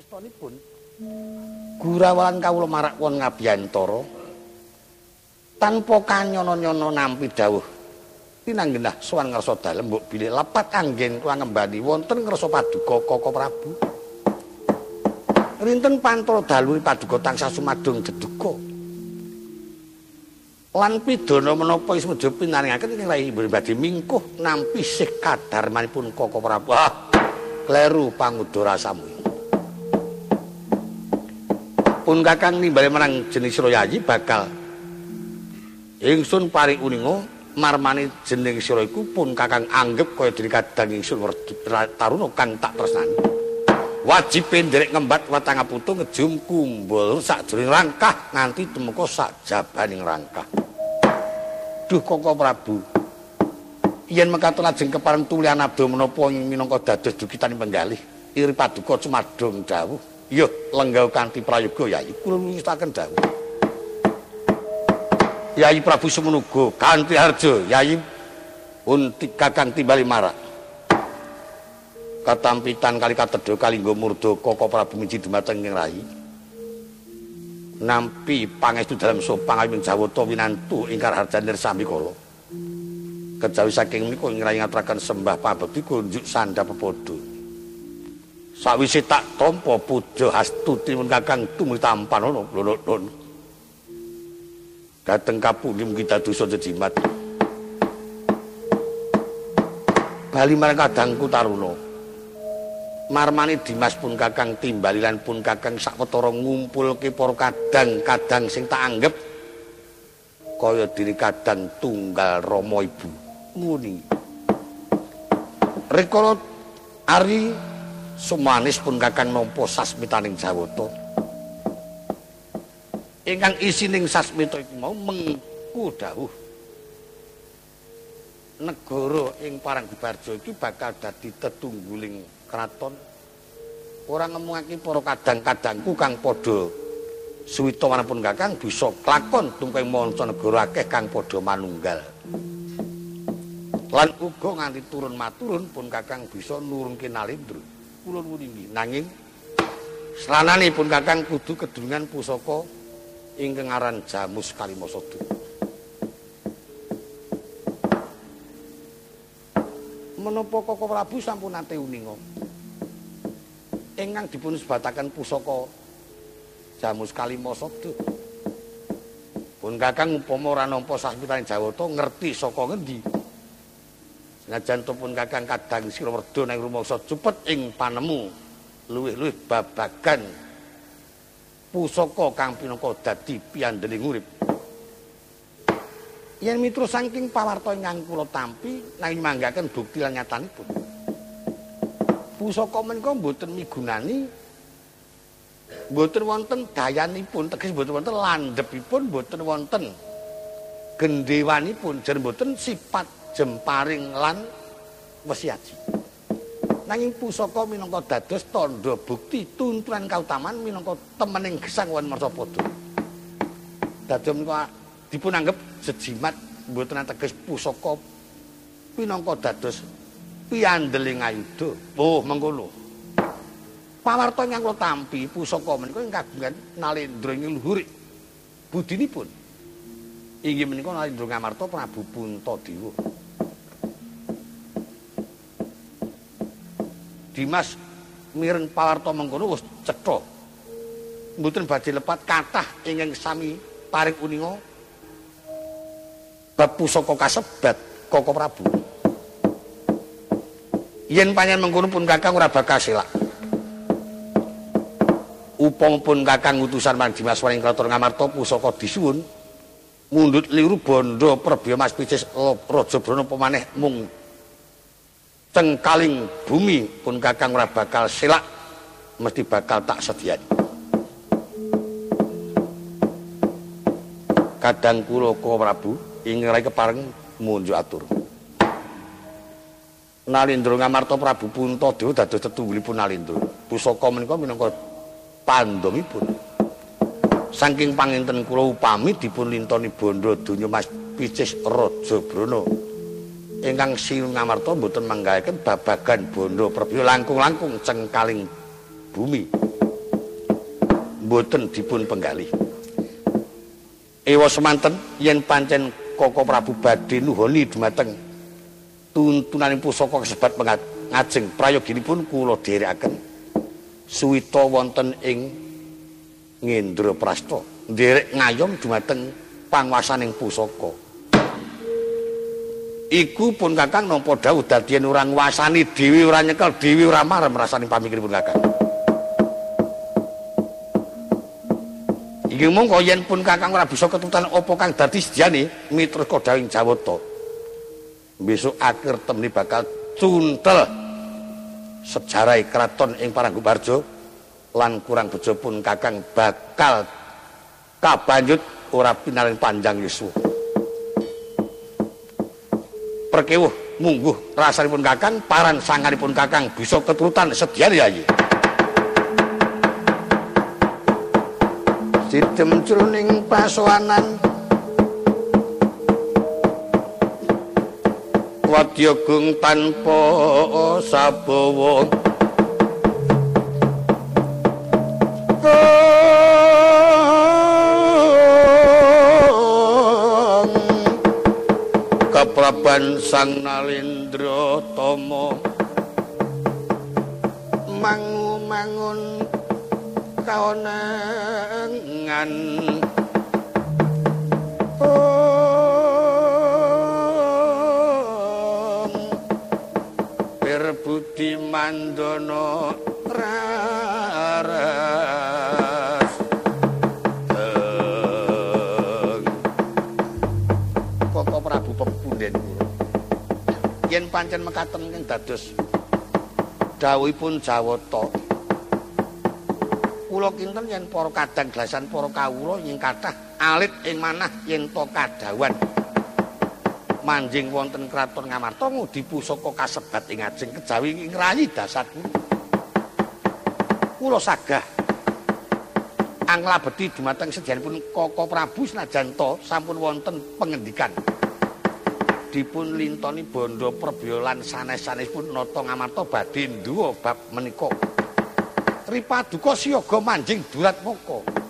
Wektanipun Gurawalan kawula marak won ngabiyantara tanpa kanyono-nyono nampi dawuh pinanggenah sowan ngarsa dalem mbok bilih lepat anggen kula ngembani wonten ngarsa paduka Koko Prabu. Rinten pantara dalu paduka tansah sumadong deduka. Lan pidana menapa ismedya pinaringaken ing Rai badhe mingkuh nampi sih kadarmanipun Koko Prabu. Kleru pangudara samu. Pun Kakang nimbali menang jenis Yayi bakal ingsun paring uninga marmane jeneng sira iku pun Kakang anggep kaya dene kadang ingsun taruna kang tak tresnani. Wajib nderek ngembat watang putu ngejum kumbul sakjroning rangkah nganti temeka sak jabaning rangkah. Duh Koko Prabu. Yen mekaten lajeng kepareng tulian abdo menapa minangka dados dukitaning penggalih iri paduka cumadong dawuh. Yo lenggah kanthi prayoga Yayi kula nuwusaken dawuh. Yayi Prabu Semenuga kanthi harja Yayi unti Kakang timbali marak. Katampitan kali katedha kalingga murda Koko Prabu miji dumateng ing Rai. Nampi pangestu dalam sopang awing Jawata winantu ingkar harjanir sami kala. Kejawi saking menika ing Rai ngaturaken sembah pabekti kunjuk sandha pepodo. Sawise tak tampa puja Astuti mun Kakang tumuli tampan ana lho. Dateng kapundi kita dosa jejimat. Bali marang kadangku taruna. Marmane Dimas pun Kakang timbali lan pun Kakang sawetara ngumpulke para kadang-kadang sing tak anggep kaya diri kadang tunggal Rama Ibu. Muni. Rikala ari sumanis pun Kakang nampa sasmitaning Jawata. Ingkang isining sasmita iku mau mengku dawuh. Negara ing Paranggebarja iki bakal dadi tetungguling kraton. Ora ngemungake para kadang-kadangku kang padha suwita manapun Kakang bisa klakon tungkeng manca negara akeh kang padha manunggal. Lan uga nganti turun maturun pun Kakang bisa nurunke Nalendra. Kula nuwun inggih nanging srananipun Kakang kudu kedunungan pusaka ingkang aran Jamus Kalimasada. Menapa Koko Prabu sampun nate uninga ingkang dipun sebataken pusaka Jamus Kalimasada. Pun Kakang upama ora nampa sasmitaning Jawata ngerti saka ngendi. Senajan pun Kakang kadang sira werda nang rumangsa cepet ing panemu luwih-luwih babagan pusaka kang pinangka dadi piandening urip. Yen mitra saking pawarta ingkang kula tampi nanging manggaken bukti lan nyatanipun. Pusaka menika mboten migunani, mboten wonten dayanipun, teges mboten wonten landhepipun, mboten wonten gendhewanipun, jan mboten sifat jemparing lan wesiaji. Nanging pusaka minangka dados tandha bukti tuntunan kautaman minangka temening gesang wan marsapada. Dados menika dipun anggep jejimat mboten ateges pusaka minangka dados piandeling ayuda. Oh mengkono. Pawarta ingkang kula tampi pusaka menika ing kagungan Nalendra ing luhurik budinipun. Inggih menika Nalendra Ngamarta Prabu Puntadewa. Dimas mireng pawarta mengkono wis cetha. Mboten badhe lepat kathah ingkang sami paring uninga bab pusaka kasebat Koko Prabu. Yen panjenengan mengkono pun Kakang ora bakal selak. Upama pun Kakang utusan marang Dimas Waring Kraton Ngamarta pusaka disuwun mundhut liru bondo Prabu Mas Picis Rajabrana pemaneh mung cengkaling bumi pun Kakang ora bakal selak, mesti bakal tak sediani. Kadang kula Koko Prabu ing rai kepareng munjuk atur. Nalendra Ngamarta Prabu Puntadewa dados tetunggulipun Nalendra. Pusaka menika minangka pandhomipun. Saking panginten kula upami dipun lintoni bondo donya Mas Picis Rajabrana. Ingkang Sinuwun Ngamarta mboten manggahaken babagan bondo Prabu langkung-langkung cengkaling bumi. mboten dipun penggalih. Ewa semanten yen pancen Koko Prabu badhe nuhoni dhumateng tuntunaning pusaka kasebat ngajeng prayoginipun kula dherekaken suwita wonten ing Ngendraprasta nderek ngayom dhumateng panguwasaning pusaka. Iku pun Kakang nampa dawuh dadi yen ora nguwasani dhewe ora nyekel dhewe ora marem rasane pamikiripun Kakang. Iki mongko yen pun Kakang ora bisa ketutan apa kang dadi sediane miturut kodawing Jawata. Besok akhir temni bakal cuntel sejarah kraton ing Paranggubarjo lan kurang bejo pun Kakang bakal kabanjut ora pinalen panjang yuswa. Perkewuh mungguh rasanipun Kakang paran sanganipun Kakang bisa keturutan sediane yayi. Sidem jroning pasowanan Wadyagung tanpa sabawa kapraban Sang Nalendra Tama mangun kaonangan Budi Mandana raras Koko Prabu pepunden kula yen pancen mekaten ing dados dawuhipun Jawata kula kinten yen para kadang glasan para kawula ing kathah alit ing manah yen to kadawan manjing wonten kraton Ngamarta ngudi pusaka kasebat ing ajeng kejawi ngrayi dasatku. Kula sagah anglabeti dumateng sejanipun Koko Prabu senajan to sampun wonten pengendikan dipun lintoni bondo Prabaya lan sanes-sanesipun nata Ngamarta badhe nduwa bab menika. Ripaduka siyaga manjing Duratmaka.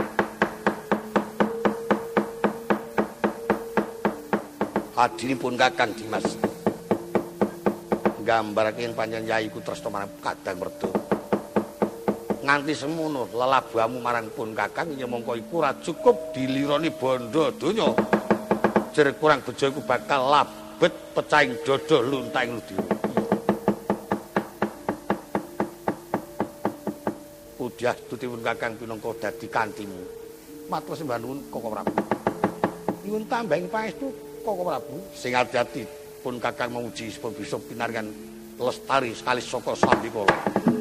Adinipun Kakang Dimas nggambarake yen panjenengan yayiku tresna marang Kadang Merda nganti semono lelabuhamu marang pun Kakang ya mongko iku ora cukup dilironi bondo donya jer kurang bejo iku bakal labet pecahing dada luntaing ludira. Pudyah tutipun Kakang pinangka dadi kantimu matur sembah nuwun Koko Prabu nyuwun tambahing pangestu Koko Prabu sing ati-ati pun Kakang memuji supaya bisa pinaringan lestari sekali saka sambikala.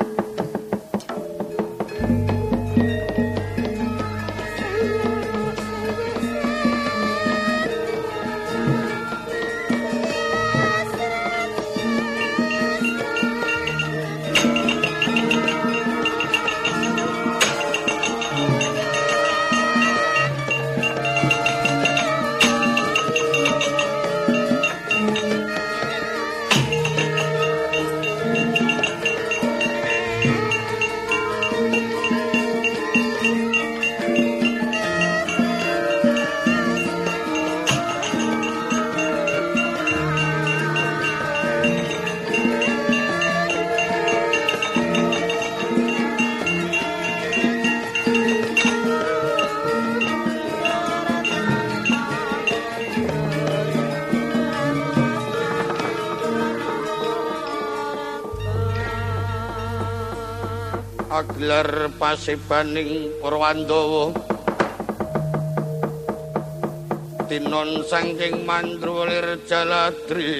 Aglar pasebaning Prawandawa tinon saking mandrulir Jaladri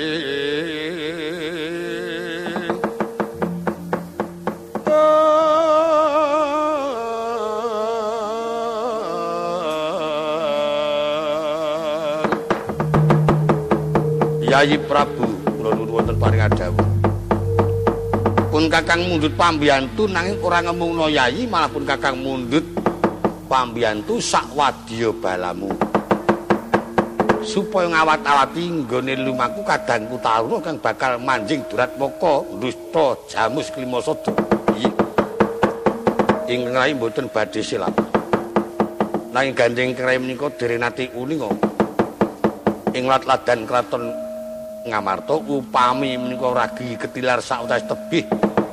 Yayi Prabu kula nuwun wonten paring adhawuh pun Kakang mundhut pambiyantu nanging ora ngemungno yayi malah pun Kakang mundhut pambiyantu sakwadya balamu supaya ngawat-awati nggone lumaku kadangku Taruna kang bakal manjing Duratmaka ndusta Jamus Klimasada. Ingkang rai mboten badhe silap. Nanging gandeng rai menika direnati uninga. Ing lat-ladan kraton Ngamarta upami menika ragi ketilar sautas tebih.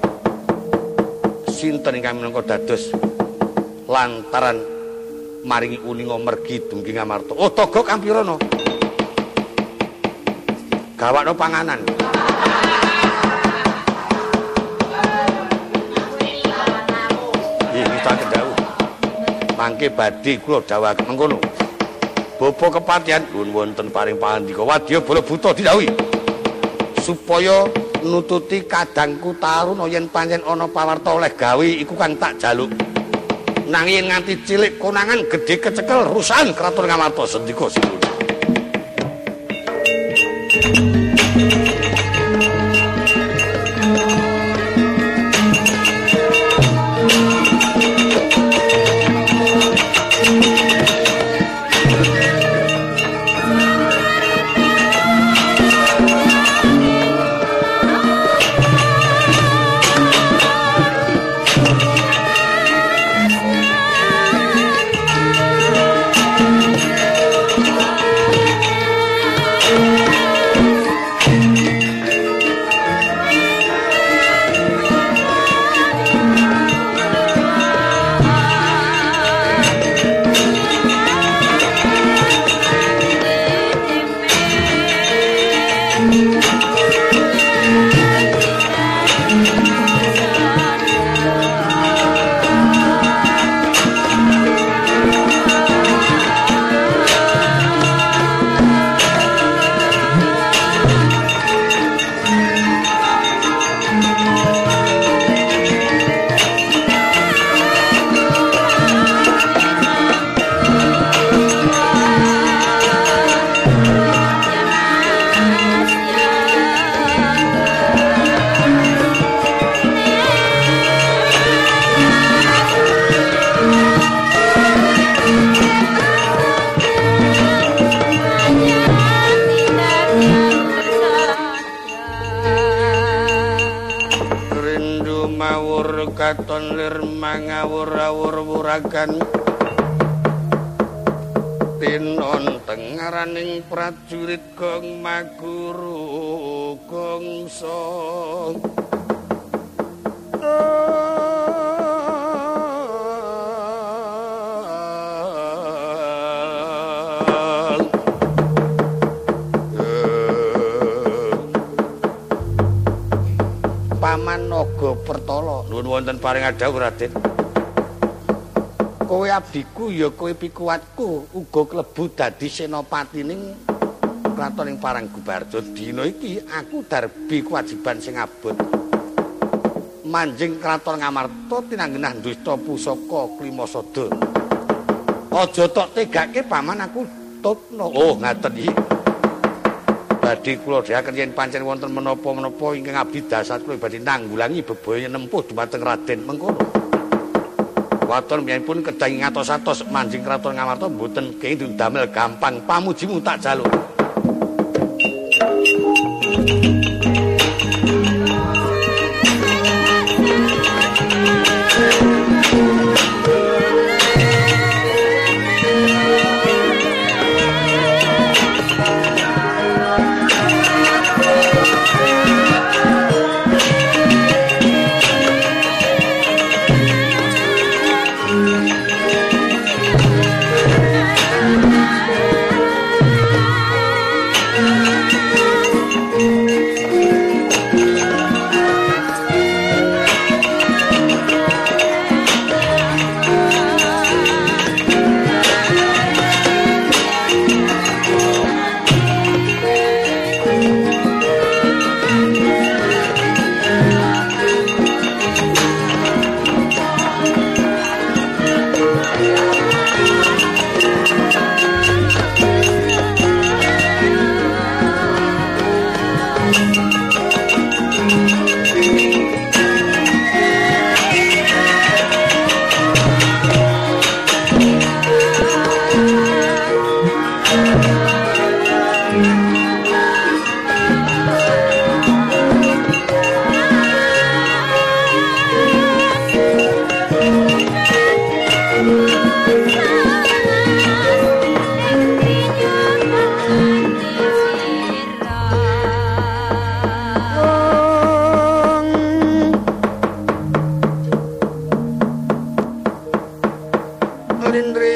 Sinten ingkang minangka dados lantaran maringi uninga mergi dumugi Ngamarta. Oh, Togo Kampirana. Gawakno panganan. Mangke badhe kula dawuhaken mengkono. Bapa kepatihan nuwun wonten paring pangandika wadya bala buta didhawuhi supaya nututi kadangku taruna yen pancen ana pawarta oleh gawe iku kang tak jaluk. Nanging nganti cilik konangan gedhe kecekel rusahan kraton Ngamarta sendika sinuwun. Katon lir mangawur-awur wuragan tinon tengaraning prajurit gong maguru gongso Paman Naga Pertala nuwun wonten paring adhawuh Raden. Kowe abdiku ya kowe pikuwatku uga klebu dadi senopatining kraton ing Paranggubarjo. Dina iki aku darbi kewajiban sing abot. Manjing kraton Ngamarta tinanggenah dusta pusaka Klimasada. Aja tok tegake paman aku tutno. Oh, ngaten iki. Badhe kula dheweken yen pancen wonten menapa-menapa ingkang abdi dasar kula badhe nanggulangi bebaya nempuh dumateng Raden mengkono. Waton miyapun kedang ngatos-atos manjing kraton Ngamarta mboten kenging damel gampang pamujimu tak jaluk.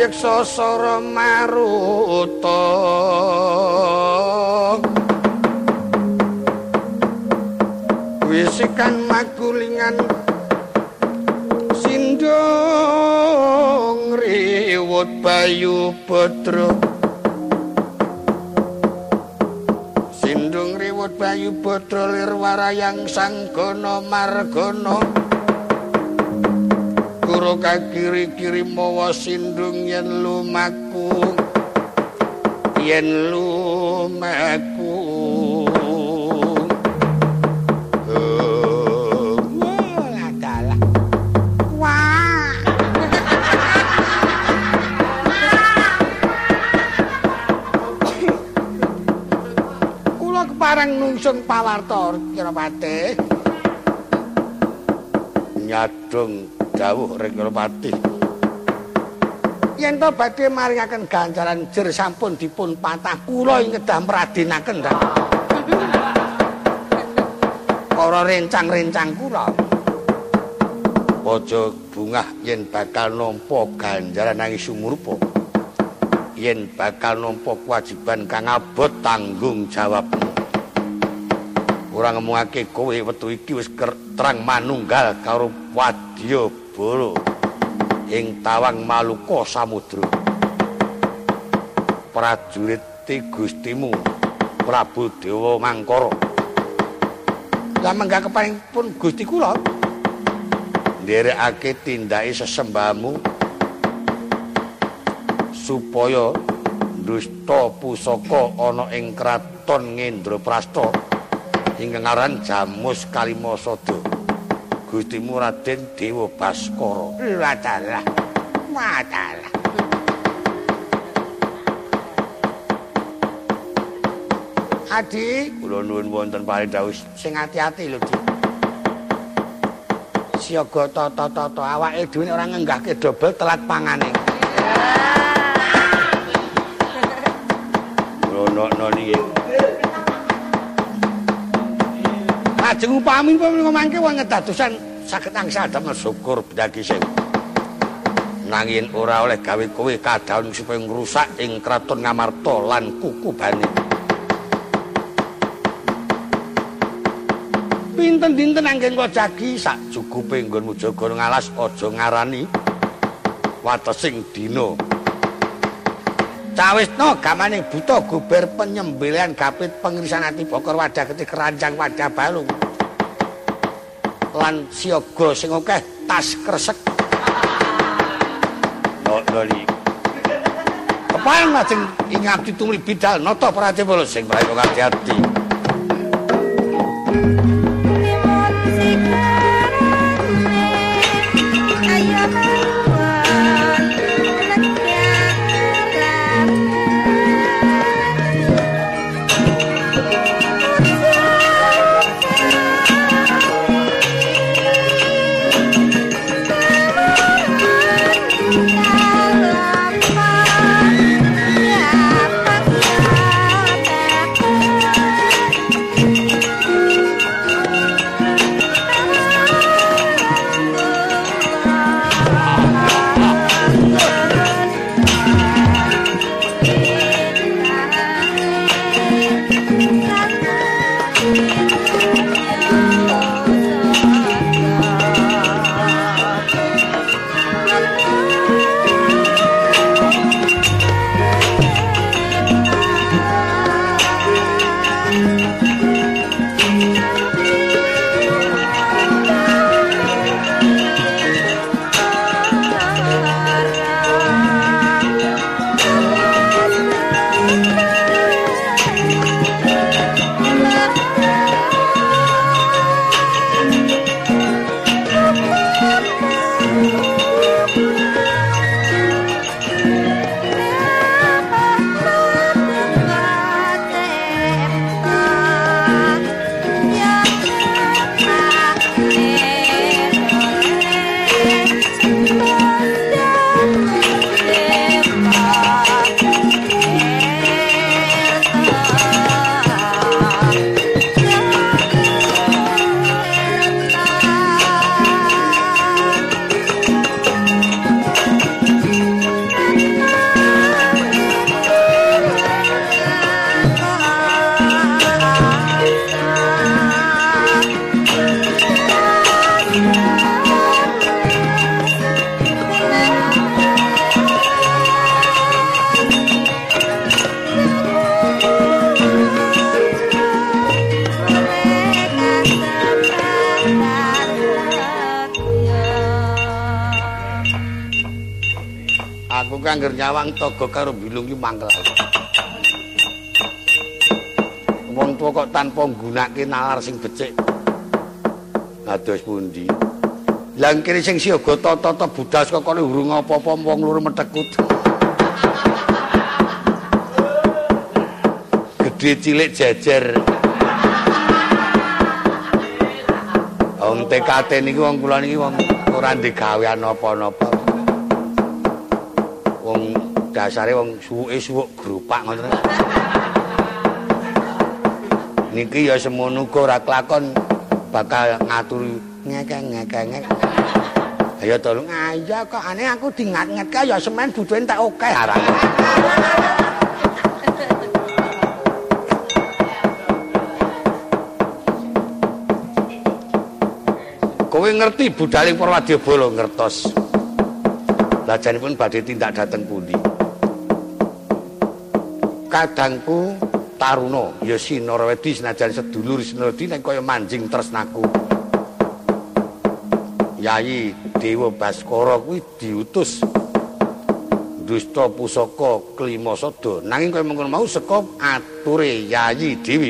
Jayeksa Sara Maruta wisikan magulingan sindung riwut Bayu Putra sindung riwut Bayu Putra lir warayang sanggana margana kuro kakiri-kiri mawa sindung yen lumaku adalah wah kula kepareng nungsun pawarta Kiropati nyadung dawuh Rekropati yen to badhe maringaken ganjaran jer sampun dipun patah kula ing kedah mradenaken para rencang-rencang kula aja bungah yen bakal nampa ganjaran nang sumurpa yen bakal nampa kewajiban kang abot tanggung jawabmu ora ngomongake kowe wektu iki wis terang manunggal karo Wadyabala ing tawang Maluka Samudra prajurit Gustimu Prabu Dewa Mangkara lan menggah keparengipun Gusti kula nderekake tindake sesembahmu supaya dusta pusaka ana ing kraton Ngendraprasta ingkang aran Jamus Kalimasada Gustimu Raden Dewa Baskara. Wadalah. Adi, kula nuwun wonten paridhawuh sing ati-ati lho, Dik. Siaga tata awake dhewe ora ngenggahke dobel telat pangane. Rono niki. Lajeng upami ngomongke wong ngedadosan saged angsal damel syukur bendagi sing nanging ora oleh gawe kowe kadaon supaya ngrusak ing kraton Ngamarta lan kukubane. Pinten-dinten anggen kok jagi sak cukupe nggonmu jaga ngalas aja ngarani watesing dina. Cawisna gamane buta guber penyembelihan gapit pengirisan ati bokor wadah ketik keranjang wadah balung lan siaga sing akeh tas kresek noli kepareng lajeng ing abdi tumuli bidal nata Prajavala sing prayo ati-ati Aku ki anggere nyawang toga karo bilung ki mangkel. Wong tuwa kok tanpa nggunakake nalar sing becik. Dados pundi? Lah kene sing siaga tata budas kok kene urung apa-apa wong loro metekut. Gedhe cilik jejer. Wong TKT niki wong kula niki wong ora ndek gawean apa-apa. Wong dasare wong suwuke suwuk grupak ngoten. Niki ya semono uga ora kelakon bakal ngaturi ngek-ngek. Ayo tolong aja kok aneh aku dingat-ngetke ya semen butuhe tak oke arane. Kowe ngerti budaling para wadyabala ngertos. Lajanipun badhe tindak dhateng pundi? Kadangku taruna ya Sinarwedi senajan sedulur Sinarwedi nek kaya manjing tresnaku. Yayi Dewa Baskara kuwi diutus dusta pusaka Klimasada nanging kaya mengkono mau saka ature Yayi Dewi.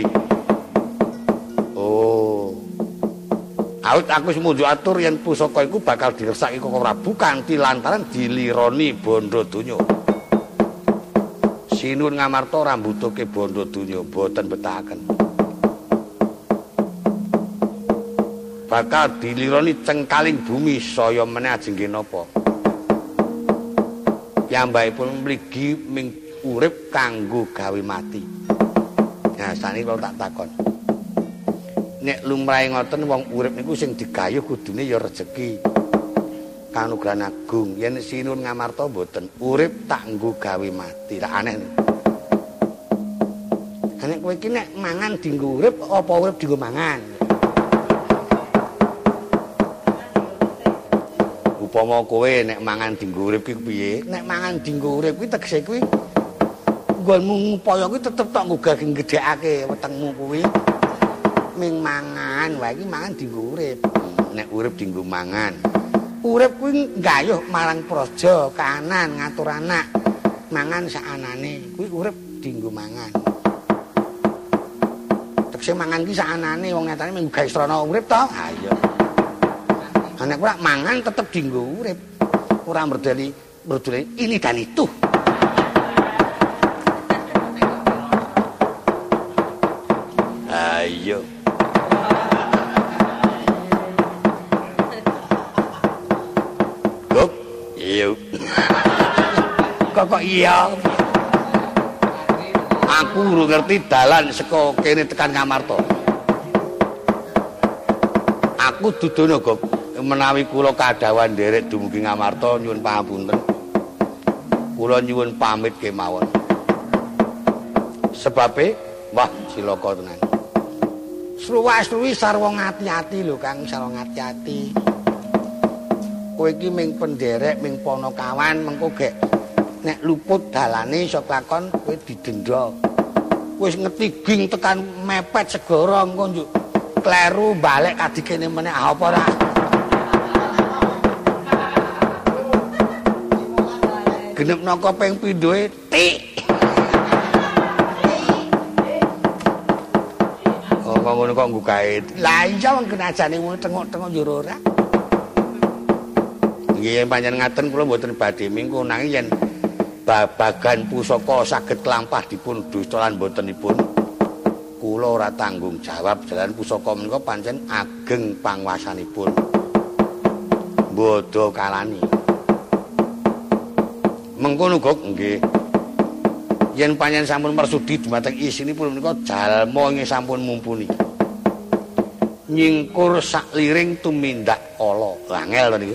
Oh. Awit aku wis munjuk atur yen pusaka iku bakal diresaki Koko Prabu kanthi lantaran dilironi bondo donya. Sinuwun ngamarta rambutuke bondo donya boten betahaken. Bakal dilironi cengkaling bumi saya meneh ajeng napa. Piyambakipun mligi ming urip kanggo gawe mati. Nah, saniki kula tak takon. Nek lumrahe ngoten wong urip niku sing digayuh kudune ya rejeki. Kanugrahan agung yen sinuwun ngamarta mboten urip tak nggo gawe mati. Lah aneh. Nek kowe iki nek mangan dienggo urip apa urip dienggo mangan? Upama kowe nek mangan dienggo urip ki piye? Nek mangan dienggo urip kuwi tegese kuwi nggonmu ngupaya kuwi tetep tok nggugah gedhekake wetengmu kuwi. Ming mangan wae iki mangan dienggo urip. Nek urip dienggo mangan. Urip kuwi nggayuh marang praja, kahanan, ngatur anak. Mangan saanane. Kuwi urip dienggo mangan. Tekse mangan ki saanane wong nyatane mung gawe srana urip to. Ha iya. Nek ora mangan tetep dienggo urip. Ora merdeli ini dan itu. Ayo. Iya. Kok iya? Aku urung ngerti dalan saka kene tekan Ngamarta. Aku dudono, Gop. Menawi kula kadhawan nderek dumugi Ngamarta nyuwun pangapunten. Kula nyuwun pamit kemawon. Sebabe wah cilaka tenan. Sruwak-sruwi sarwa ngati-ati lho Kang, sarwa ngati-ati. Kowe iki ming penderek, ming ponokawan, mengko gek nek luput dalane iso klakon kowe didenda. Wis ngetiging tekan mepet segara engko njuk kleru balik kadikene meneh apa ora? Genep naka ping pindhoe tik. Oh ngono kok nggukae. Lah iya wong kenajane wong tengok-tengok njero ora. Nggih pancen ngaten kula mboten badhe mingku nanging yen babagan pusaka saged lampah dipun dusta lan mbotenipun kula ora tanggung jawab jalan pusaka menika pancen ageng panguwasanipun. Bodho kalani. Mengkono kok nggih. Yen pancen sampun marsudi dumateng isinipun menika jalma ing sampun mumpuni. Nyingkur sakliring tumindak ala. Angel to niku.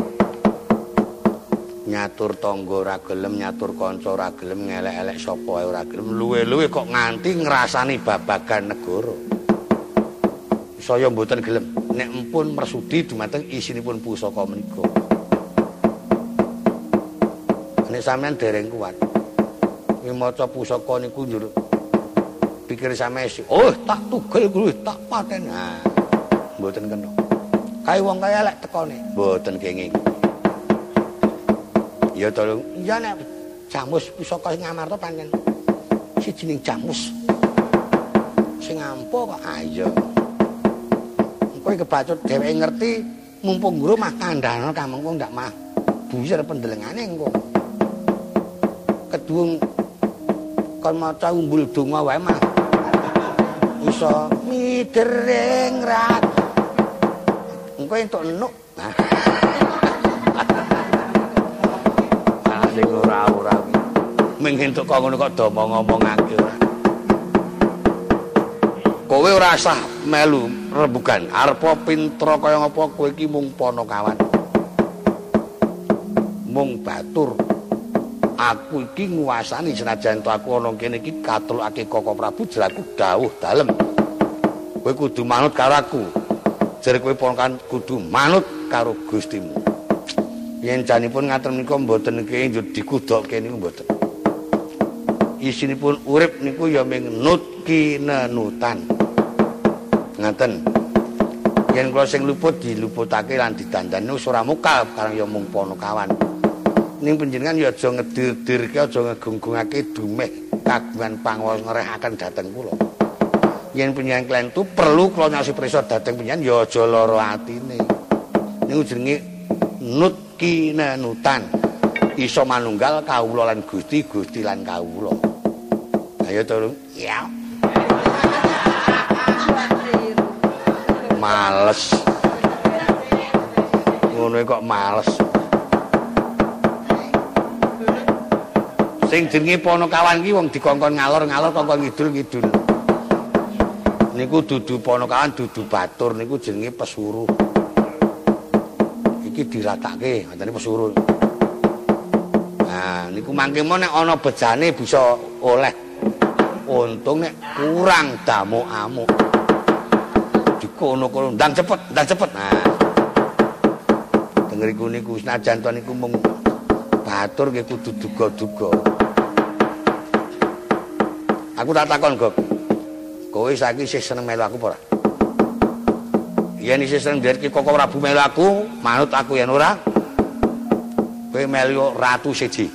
Nyatur tangga ora gelem, nyatur kanca ora gelem, ngelek-elek sapa ae ora gelem, luwe-luwe kok nganti ngrasani babagan negara. Saya mboten gelem nek empun mersudi dumateng isinipun pusaka menika. Nek sampean dereng kuat. Ing maca pusaka niku njur pikir sampeyan, "Oh, tak tugel kuwi, tak paten." Nah, mboten kena. Kae wong kaya elek tekone, mboten kenging. Ya to. Iya nek jamus pusaka sing Ngamarta pancen sijining jamus sing ampuh kok. Ah iya. Kowe kebacut dheweke ngerti mumpung guru mah kandhane kamengko ndak mah buyar pendelengane engko. Kedung kon maca umbul donga wae mah iso midering rat. Engko entuk enuk. Ah sing ora-ora kuwi. Ming entuk kok ngono kok do ngomongake ora. Kowe ora usah melu rembugan. Arepa pintra kaya ngapa kowe iki mung Panakawan. Mung batur. Aku iki nguwasani senajan to aku ana kene iki katulake Koko Prabu jeraku dawuh dalem. Kowe kudu manut karo aku. Jare kowe ponakan kudu manut karo Gustimu. Yen janipun ngaten menika mboten niki dikudokke niku mboten. Isinipun urip niku ya ming nut kinenutan. Ngaten. Yen kula sing luput diluputake lan didandani wis ora mukal karang ya mung Panakawan. Ning panjenengan ya aja ngedir-dirke aja ngegunggungake dumeh kagungan pangawas ngrehaken dhateng kula. Yen panjenengan klentu perlu kula nyasi prisa dhateng panjenengan ya aja lara atine. Niku jenenge nut kinenutan. Iso manunggal kawula lan Gusti, Gusti lan kawula. Ayo to, ya. Males. Ngono kok males. Sing jenenge Panakawan ki wong dikongkon ngalor-ngalor kongkon ngidul-ngidul. Niku dudu Panakawan dudu batur niku jenenge pesuruh. Iki diratake ngene pesuruh. Nah, niku mangke nek ana bejane bisa oleh. Untung nek kurang damuk-amuk. Dikono-kono ndang cepet. Nah. Denger iku niku senajan to niku mung batur nggih kudu duga-duga. Aku tak takon, Gok. Kowe saiki isih seneng melu aku apa ora? Yen isih seneng nderek Koko Prabu melu aku, manut aku yen ora. Kowe melu ratu siji.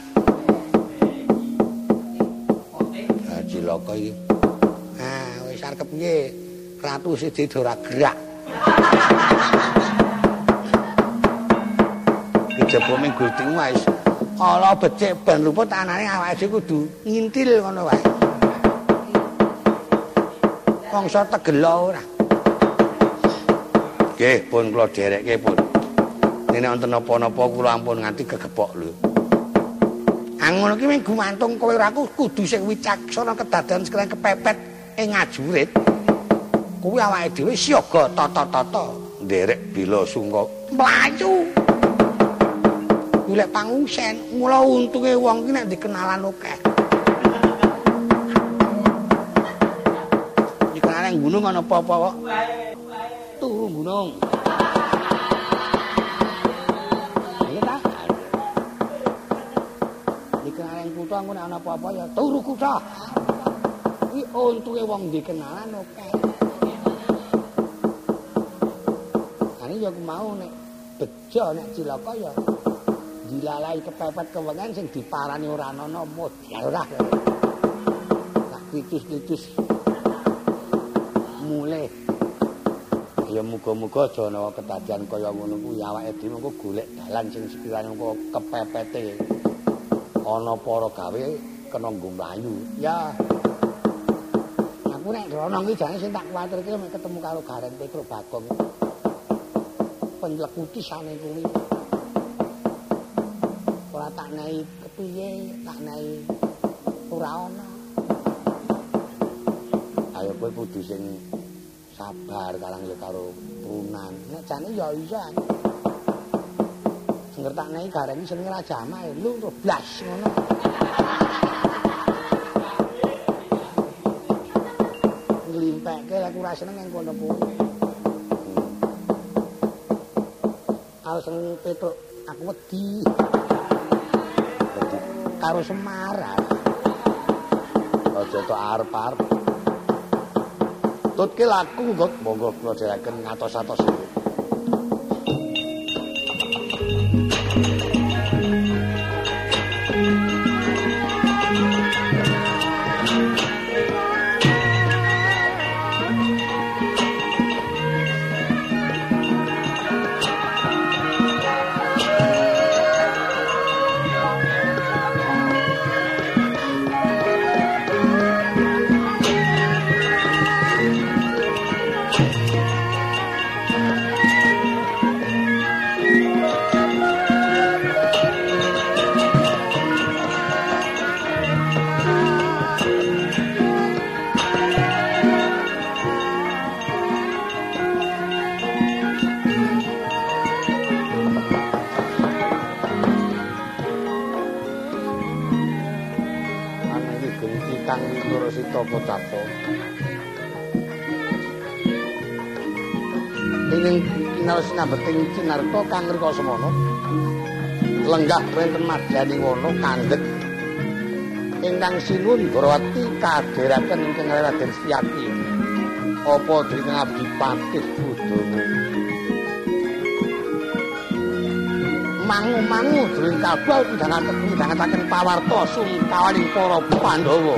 Ah, cilaka iki. Ah, wis arep piye? Ratu siji ora gerak. Kejaba ming Gustimu wis ala becik ben luput anane awake dhewe kudu ngintil ngono wae. Mangsa tegela ora. Nggih, pun kula derekke pun. Nek wonten apa-napa kula ampun nganti gegepok lho. Angono ki ming gumantung kowe ora kudu sing wicaksana kedadean sekalian kepepet ing ngajurit. Kuwi awake dhewe siaga tata-tata nderek bila sungka mlayu. Golek pangusen, mula untunge wong ki nek dikenalan akeh. Dikenalan gunung ana apa-apa kok. Turu gunung. Iya ta? Dikenalan kutha engko nek ana apa-apa ya turu kutha. Kuwi untunge wong dikenalan akeh. Ani ya mau nek bejo nek cilaka ya dilalai kepepet kewengan sing diparani ora ana modal ora. Tak kritus-kritus mulih. Ya muga-muga aja ana kedadian kaya ngono kuwi awake dhewe engko golek dalan sing sekirane engko kepepete ana para gawe kena nggo mlayu. Ya. Aku nek rono iki jane sing tak kuwatirke mek ketemu karo Garen Petro Bagong. Penlekutisane kuwi. Ora tak nei kepiye, tak nei ora ana. Ayo kowe kudu sing sabar kalang ya karo turunan. Nek jane ya iso. Sing tak nei Garen iki senenge Raja Amah lho blas ngono. Nglimpekke aku ora seneng ning kono kuwi. Aku seneng Petruk, aku wedi. Karo Semar. Aja tok arep-arep. Tutke laku kok monggo kula dherekaken ngatos-atos. Kakang Wikurasita Pocapa. Ing sinambeting Cinarta kang rika semana lenggah wonten madyaning wana kandhek ingkang sinuwun Barawati kadheraken ingkang Raden Setyaki apa dene abdi patih budana mangu-mangu jroning kabal midhangetaken pawarta sungkawaning para Pandhawa.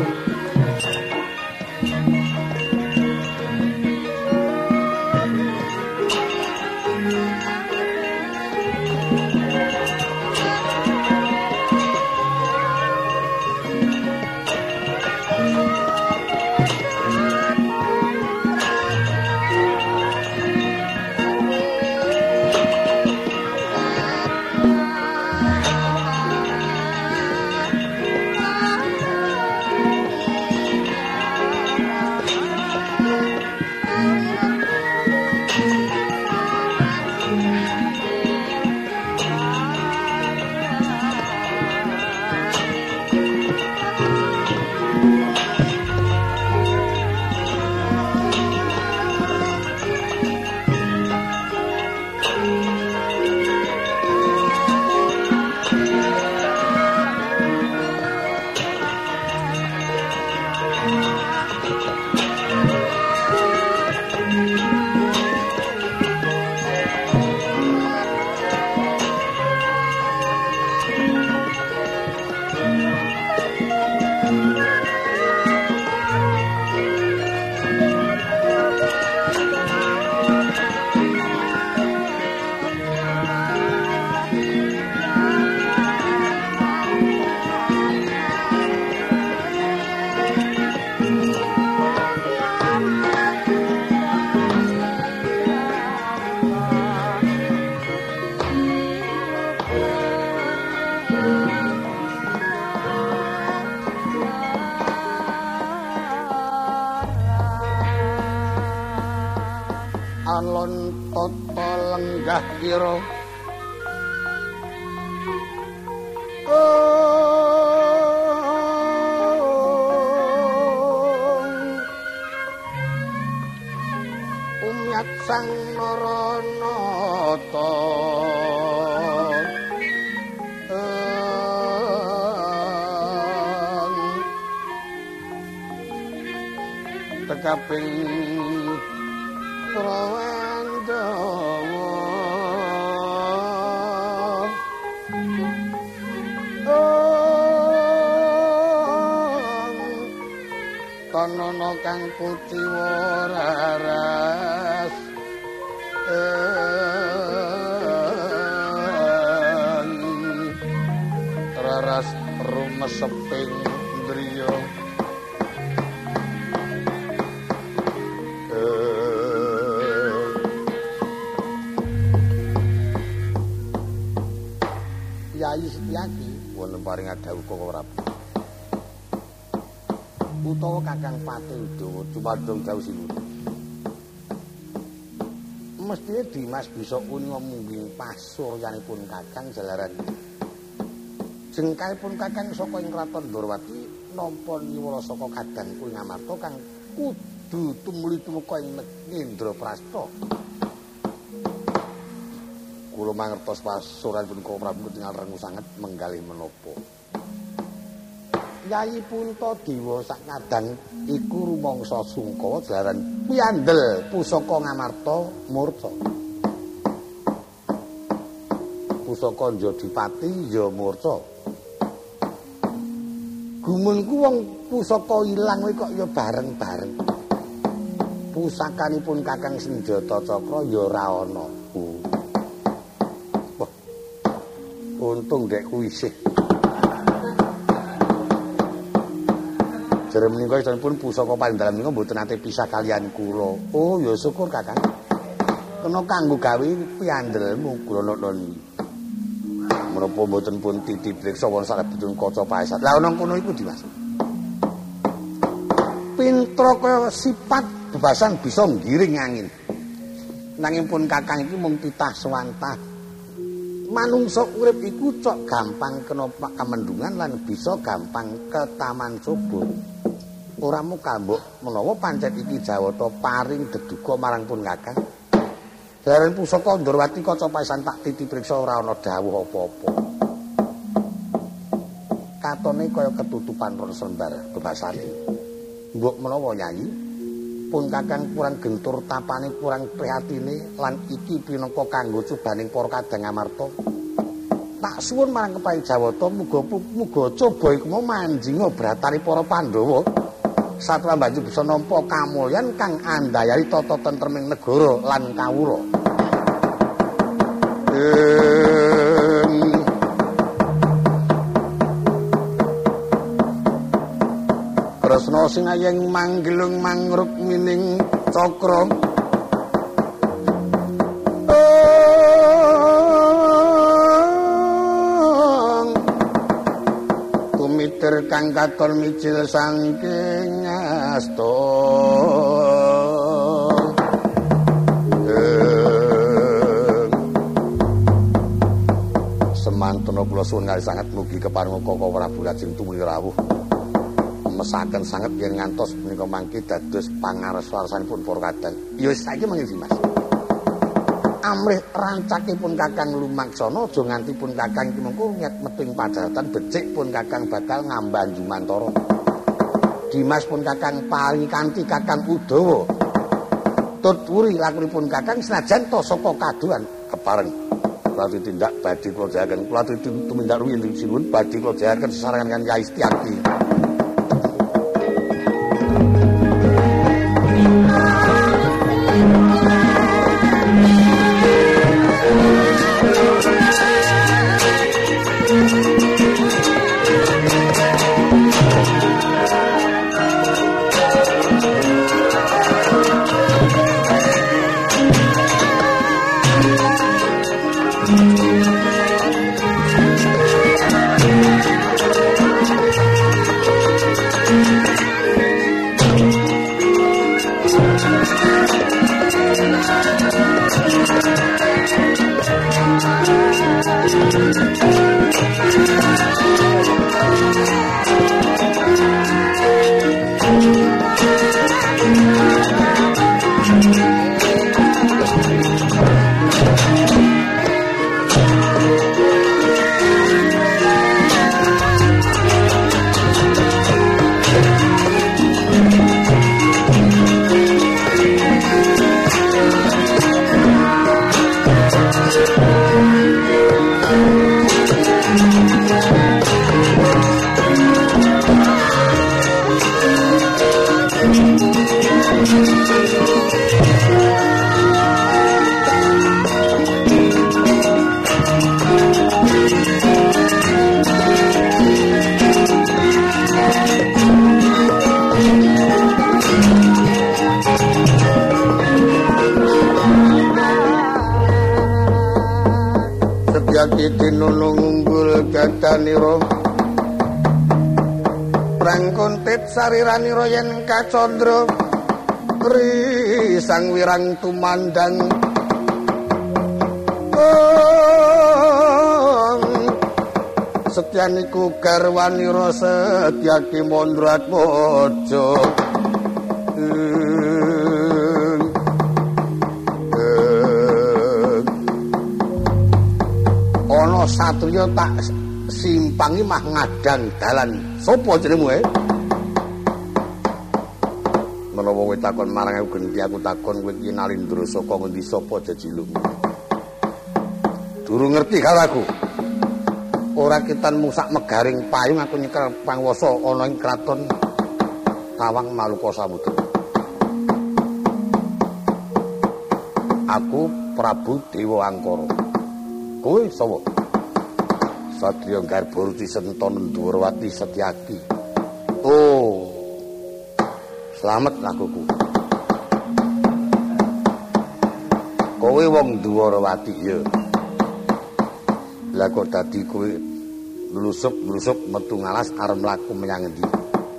alon tata lenggah kira umyat sang naranata tekaping Prawandawa kanana kang kuciwa raras raras rumeseping driya Yayi Setyaki wonten paring adhawuh Koko Prabu utawa Kakang Patih Udawa dumadung dawuh sinuwun mestine Dimas bisa uninga mungging pasuryanipun Kakang jalaran jengkaipun Kakang saka ing kraton Ndorowati nampa niwala saka kadangku ing Amarta kang kudu tumuli tumeka ing Indraprastha. Kula mangertos pasuranipun Koko Prabu ketingal rengu sanget menggalih menapa. Yayi Puntadewa sak kadang iku rumangsa sungkawa jalaran piandel pusaka Ngamarta murca. Pusaka Njadipati ya murca. Gumunku wong pusaka ilang kuwi kok ya bareng-bareng. Pusakanipun Kakang Senjata Cakra ya ora ana. Untung dekku isih. Jare menika sampun pusaka pandalan menika mboten nate pisah kaliyan kula. Oh ya syukur Kakang. Kena kanggo gawe piandelmu kula nonton. Menapa mboten pun titip reksa wonten salebetipun kaca paesat. Lah ana kono iku Dimas. Pintra kaya sifat bebasan bisa nggiring angin. Nanging pun Kakang iki mung titah swantah. Manungsa urip iku cok gampang kena kamendungan lan bisa gampang ketaman coba. ora muka mbok menawa pancen iki Jawata paring deduga marang pun Kakang. Jalaran pusaka Ndorowati kaca paesan tak titipriksa ora ana dawuh apa-apa. Katone kaya ketutupan ron sembar bebasane. Mbok menawa Nyai pun Kakang kurang gentur tapane kurang prihatine lan iki pinangka kanggo cobaning para kadang amarta. Tak suwun marang kepaing Jawata muga coba iku mau manjinga bratane para Pandhawa. Satra banjur bisa nampa kamulyan kang andayani tata tentreming negara lan kawula. Kresna sinayeng manggilung mangruk mining cakra. Kang katon micil saking asta semantuna kula suwun kali sanget mugi keparenga Koko Prabu Lajeng tumuli rawuh mesaken sanget yen ngantos menika mangke dados pangarep-arepipun para kadang. Ya saiki mangke Mas. Amrih rancakipun Kakang lumaksana aja nganti pun Kakang iki mengko nyet meting padatan becik pun Kakang bakal ngambah Jumantara. Dimas pun Kakang paringi kanthi Kakang Udawa. Tutwuri lakunipun Kakang senajan to saka kaduan kepareng. Kula tindak badhe kula jahaken kula tumindak rumiyin sinuwun badhe kula jahaken sesarengan kan Kyai Setyaki. Tinulung unggul gadanira prangkontit sariranira yen kacandra risang wirang tumandang Setyaniku garwanira Setyaki Mandratmaja ana satriya tak simpangi mah ngadang dalan. Sopo jenengmu menawa kowe takon marang aku genti aku takon kowe iki Nalindra saka ngendi sapa jejilukmu. Durung ngerti karo aku. Ora ketanmu sak megaring payung aku nyekel pangwasa ana ing kraton Tawang Maluka Samudra. Aku Prabu Dewa Angkara. Kowe sapa? Satriya Garbaruti Sentana Ndwarawati Setyaki. Oh. Slamet lakuku. Kowe wong Ndwarawati ya. Lah kok dadi kowe lusup-lusup metu ngalas arep mlaku menyang endi?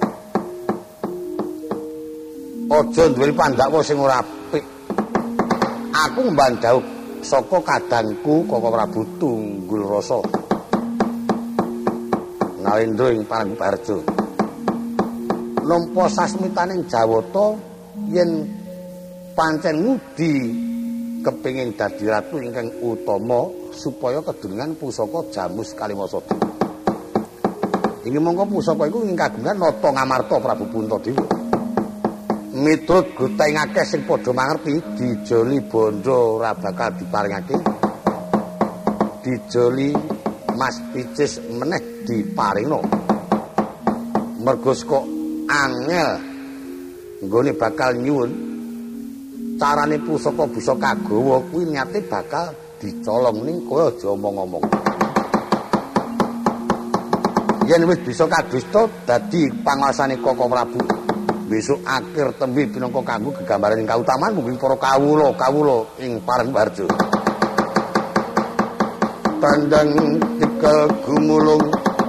Aja duwe pandhawa sing ora apik. Aku mbandhau saka kadangku Koko Prabu Tunggul Rasa. Nalindra ing Parangbarjo. nampa sasmitaning Jawata yen pancen ngudi kepingin dadi ratu ingkang utama supaya kedunungan pusaka Jamus Kalimasada. Inggih mongko pusaka iku ing kagungan Nata Ngamarta Prabu Puntadewa. Miturut gutaing akeh sing padha mangerti, dijoli bondo ora bakal diparingake. Dijoli Mas Picis meneh diparingno. Mergo kok angel nggone bakal nyuwun carane pusaka bisa kagawa kuwi niate bakal dicolong ning kowe aja omong-omong. Yen wis bisa kadusta dadi panguasane Koko Prabu. Besok akhir tembe pinangka kanggo gegambaran ing kautaman mugi para kawula ing Parengbarjo. Tandang tikel gumulung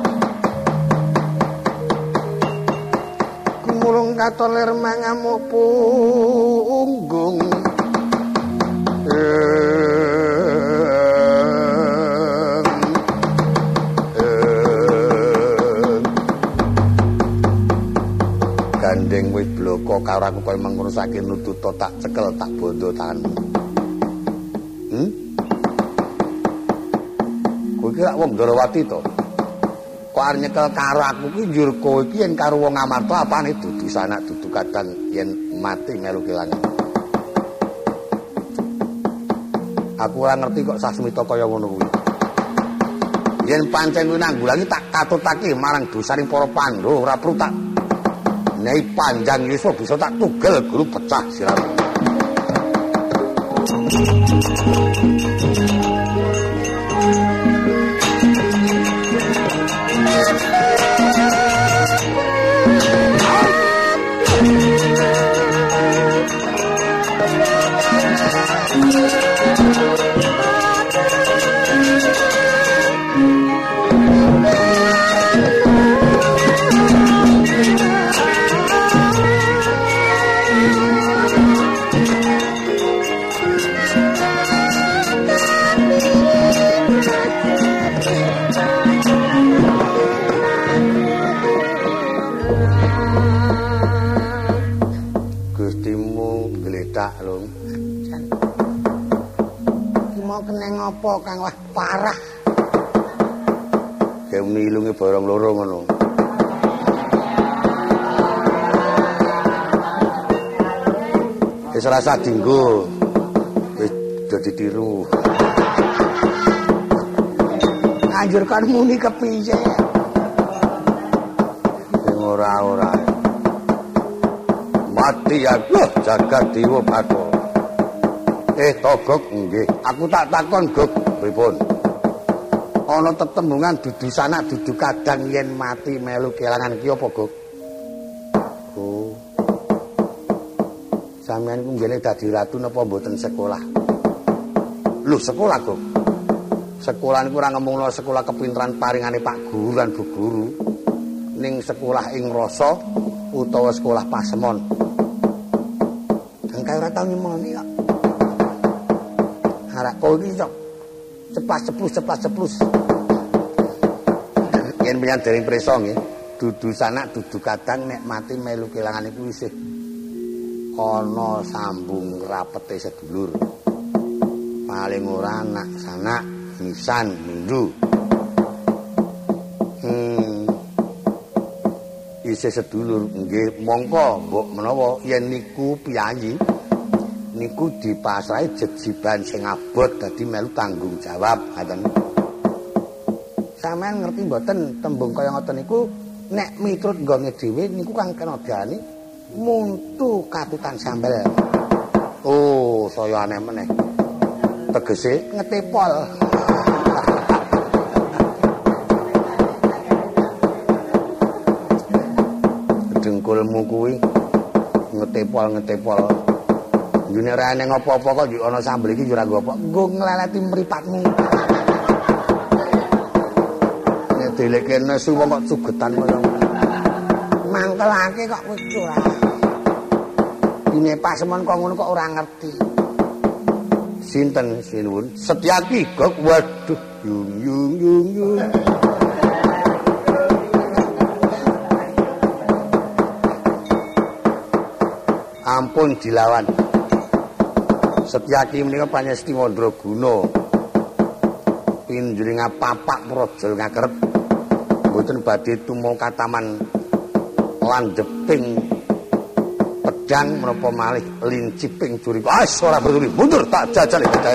katolir mangamuk punggung gandeng wis bloko karo aku kaya mangurusake nututa tak cekel tak bondo tanganmu. Kowe iki wong Ndarawati to? Kok arep nyekel karo aku ki njur kowe iki yen karo wong Ngamarta apane dudu sanak dudu kadang yen mati melu kelangan. Aku ora ngerti kok sasmita kaya ngono kuwi. Yen pancen kuwi nanggulangi tak katutake marang dosaning para Pandhawa ora perlu tak Nyai Panjang Yuswa bisa tak tugel guru pecah siramu. Apa kang wah parah. Kayak milunge barang loro ngono. Wis rasa dinggo. Wis dadi tiru. Anjurkan muni kepiye? Ora. Mati aku jagat dewa Bathara. Togok nggih. Aku tak takon, Gog, pripun? Ana tetembungan dudu sanak dudu kadang yen mati melu kelangan ki apa, Gog? Oh. Sampeyan ku ngene dadi ratu napa mboten sekolah? Lho, sekolah, Gog. Sekolah niku ora ngemungno sekolah kepinteran paringane Pak Guru lan Bu Guru. Ning sekolah ing rasa utawa sekolah pasemon. Engkau ora tau nyemoni kok. Arak kowe iki kok ceplas-ceplus. Yen menyang dereng prisa nggih, dudu sanak dudu kadang nek mati melu kelangan iku isih ana sambung rapete sedulur. Paling ora anak sanak nisan mindu. Isih sedulur nggih mongko mbok menawa yen niku piyayi niku dipasrahi jejiban sing abot dadi melu tanggung jawab ngaten. Sampeyan ngerti mboten tembung kaya ngoten niku nek miturut nggone dhewe niku kang kena diarani muntu katutan sambel. Oh, saya aneh meneh. Tegese ngetepol. Dengkulmu kuwi ngetepol. June ora ning apa-apa kok yo ana sambel iki yo ora nggo apa. Nggo ngleleti mripatmu. Nek deleke nesu wong kok sugetan kaya mangkelake kok kowe ora. Dine pasemon kok ngono kok ora ngerti. Sinten sinuwun? Setyaki Gog. Waduh, yung. ampun dilawan. Setyaki menika panyesti Mandraguna. Pinjring papak praja ngakerep. Mboten badhe tumeka taman landheping pedang menapa malih linciping juri. Ora betuli mundur tak jajal iki.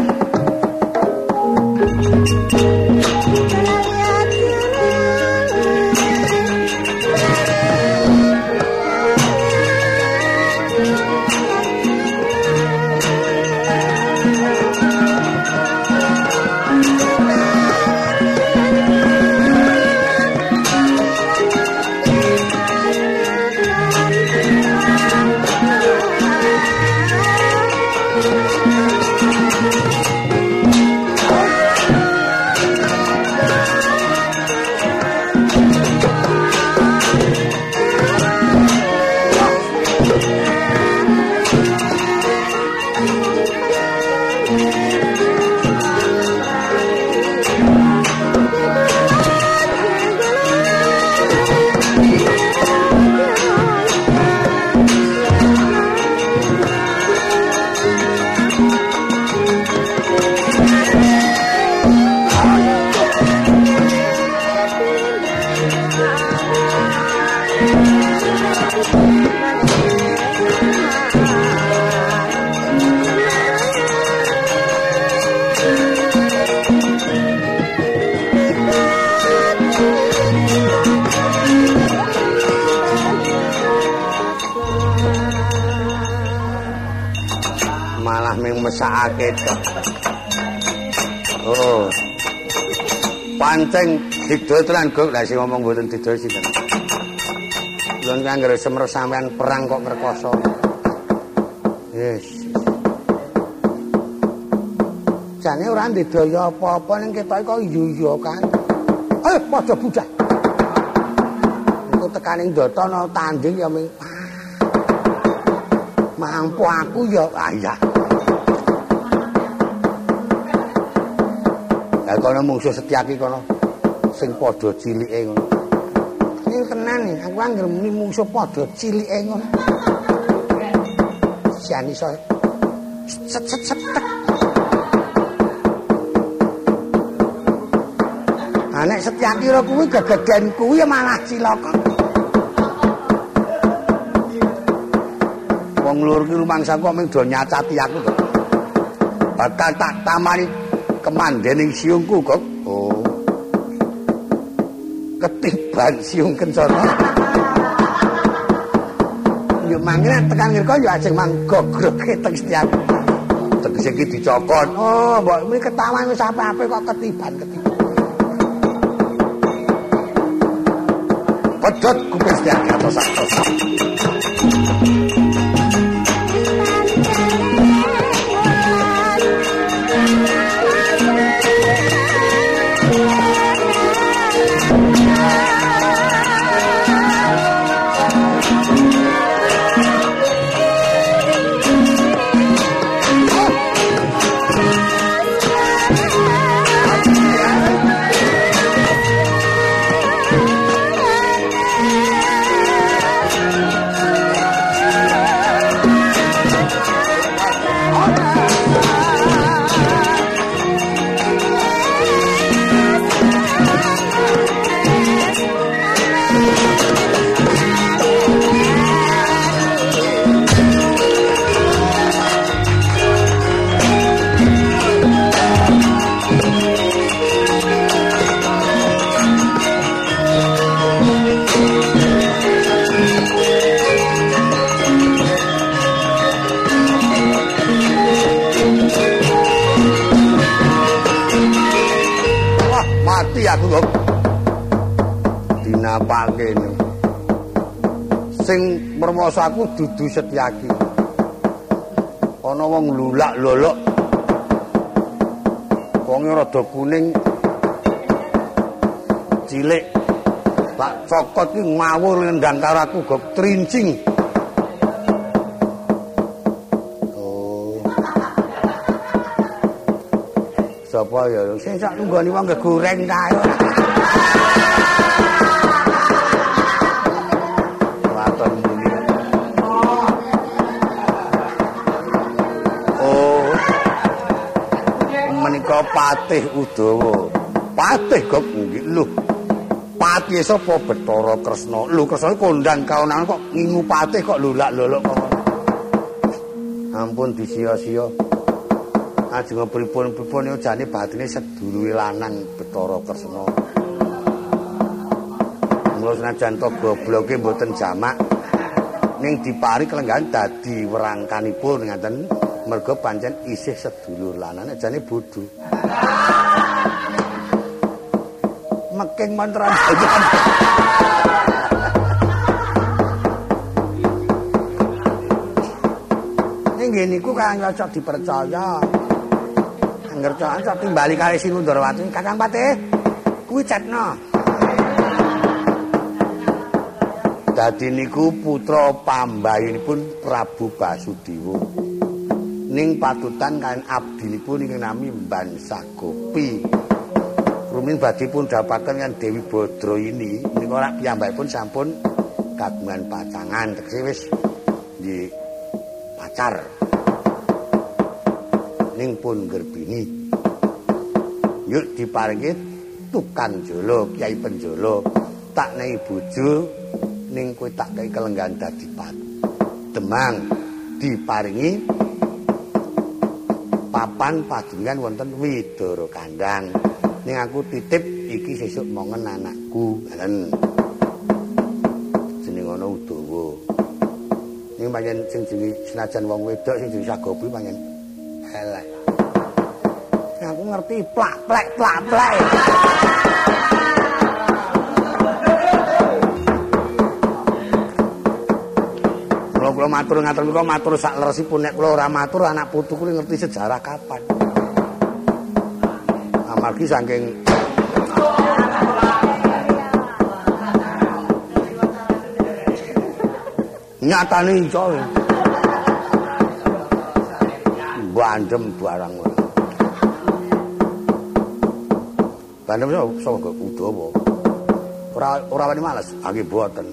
Mesakake tok. Oh. Pancen didol tenan Guk, lha sing ngomong mboten didol sinten. Lha nek anggere semer sampean perang kok ngrekoso. Yes. Jane ora ndedaya apa-apa ning ketoke kok iya kan. Ayo padha budal. Engko tekaning Ndata tanding ya ming. Mampu aku ya iya. Lah kono mungsuh Setyaki kono sing padha cilike ngono. Iki tenan iki, aku anggere muni mungsuh padha cilike ngono. Sian iso set. Nek Setyaki ro kuwi gegeden kuwi ya malah cilaka. Wong lur ki rumangsa kok mung do nyacati aku to. Bakal tak tamani kemandening siungku kok. Oh. Ketiban siung kencana. Yo mangene tekan ngirko yo ajeng manggogroke teng Setyaki. Tegese iki dicokot. Oh, mbok mriki ketawan wis ape-ape kok ketiban. Pedhot kuping Setyaki atos-atos. Aku kok dinapake sing mermoso aku dudu Setyaki. Ana wong lulak-lolok wonge rada kuning cilik tak cokot ki ngawur nendang karo aku kok trincing. Sapa ya sing sak nunggoni wong gegoreng kae. Waton muni. Patih Udawa. Patih kok nggih lho. Patih sapa Bathara Kresna? Lho Kresna kondang kaonan kok ngingu patih kok lulak-luluk kok. Ampun disia-sia. Ajeng pripun-pripun yo jane batine sedulure lanang Bathara Kresna. Mula senajan to gobloke mboten jamak ning dipari kelenggan dadi werangkanipun ngaten merga pancen isih sedulur lanang jane bodho. Meking mantra ning ngene niku kang cocok dipercaya. Angger cocok timbali kali Sinundrawati Kakang Patih kuwi cetna. Dadi niku putra pambayinipun Prabu Basudewa. Ning patutan kan abdinipun ing nami Bansagopi. Rumin badhe pun dapaken kan Dewi Badrayini menika rak piyambakipun sampun kagungan pacangan tegese wis nggih pacar. Ning pun gerbini. Yuk diparingi tukang jolo Kyai Penjolo tak nehi bojo ning kowe tak kei kelenggan dadi Demang diparingi papan padungan wonten Widara Kandang. Ning aku titip iki sesuk mongen anakku. Ngoten. Jeneng ana Udawa. Ning pancen sing jenenge senajan wong wedok sing jenenge Sagopi pancen elek. Aku ngerti plak-plek. Kula matur ngaten menika matur sak leresipun nek kula ora matur anak putuku ngerti sejarah kapan. Amargi saking nyatane iso. Bandem barang. Bandem sapa Udawa. Ora wani males, nggih boten.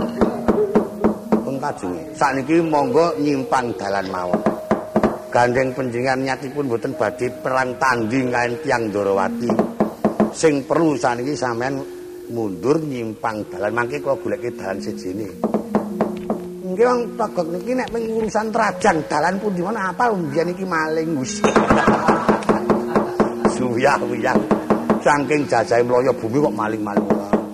Kajenge sakniki monggo nyimpang dalan mawon. Gandeng panjenengan nyatipun boten badhe perang tanding kaliyan tiyang Ndarawati. Sing perlu sakniki sampean mundur nyimpang dalan mangke kula goleke dalan sejene. Nggih wong togok niki nek ping urusan trajang dalan pundi men apal mbiyen iki maling wis. Suyah-uyah saking jajahe mlaya bumi kok maling-maling.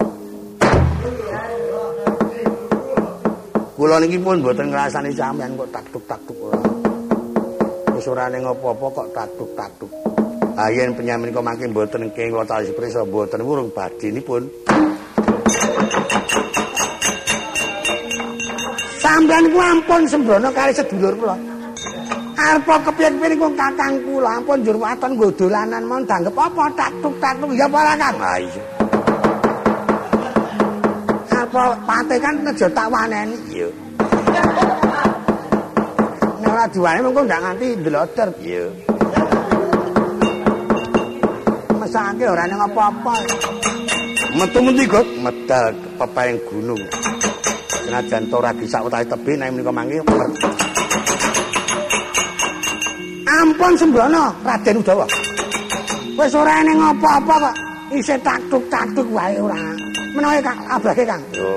Kula niki pun mboten ngrasani sampean kok taktuk-taktuk ora. Wis ora ning apa-apa kok taktuk-taktuk. Ha yen penyamin kok mangke mboten kenging kula tali prisa mboten urung badhenipun. Sampeyan ku ampun sembrono kali sedulur kula. Arep kepiye-kepiye niku kakang kula ampun njur waton nggo dolanan mon danggep apa taktuk-taktuk ya apa Kang. Ha iya. Apa patih kan nejo tak waneni. Iya. Nek ora diwane mengko ndak nganti ndloder. Iya. Mesake ora ning apa-apa. Metu-metu kok medal pepaing gunung. Senajan to ora bisa utahe tebih nek menika mangke. Ampun sembrono Raden Udawa. Wis ora ning apa-apa kok isih taktuk-taktuk wae ora. Menawa Kang abake Kang. Yo.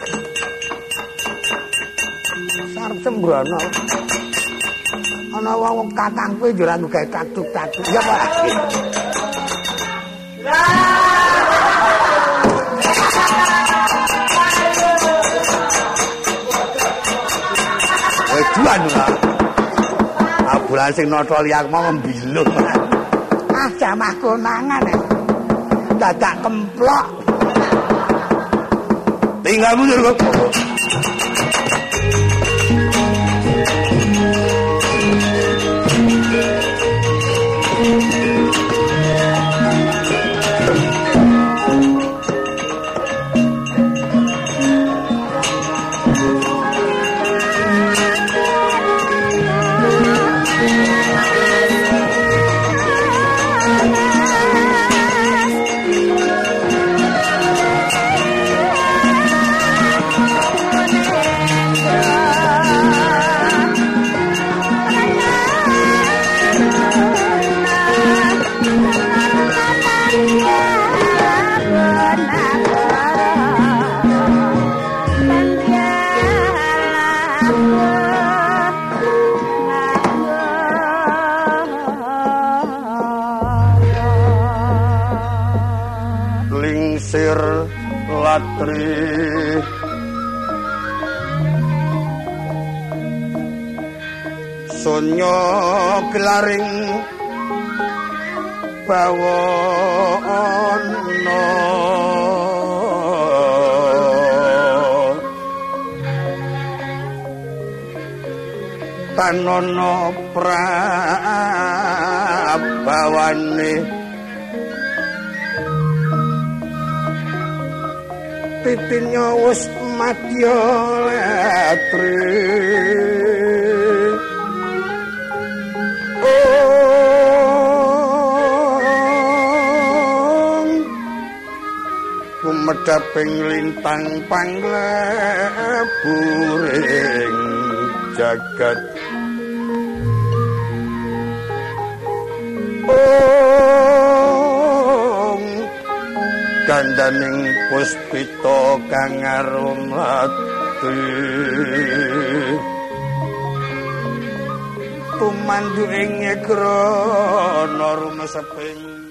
Sarep sembrono. Ana wong kakang kowe yo ora gawe taktuk-taktuk. Ya Pak. Weduan ora. Abulan sing nata liyak mau mbilung. Ah jamah konangan. Dadak kemplok. Tinggal mundur kok. latri sunyo gelaring bawana tanono prabawane titinyo wis madya latri kumedhaping lintang pangleburing jagat gandaning puspita kang arumati tumandu ing grana rumeseping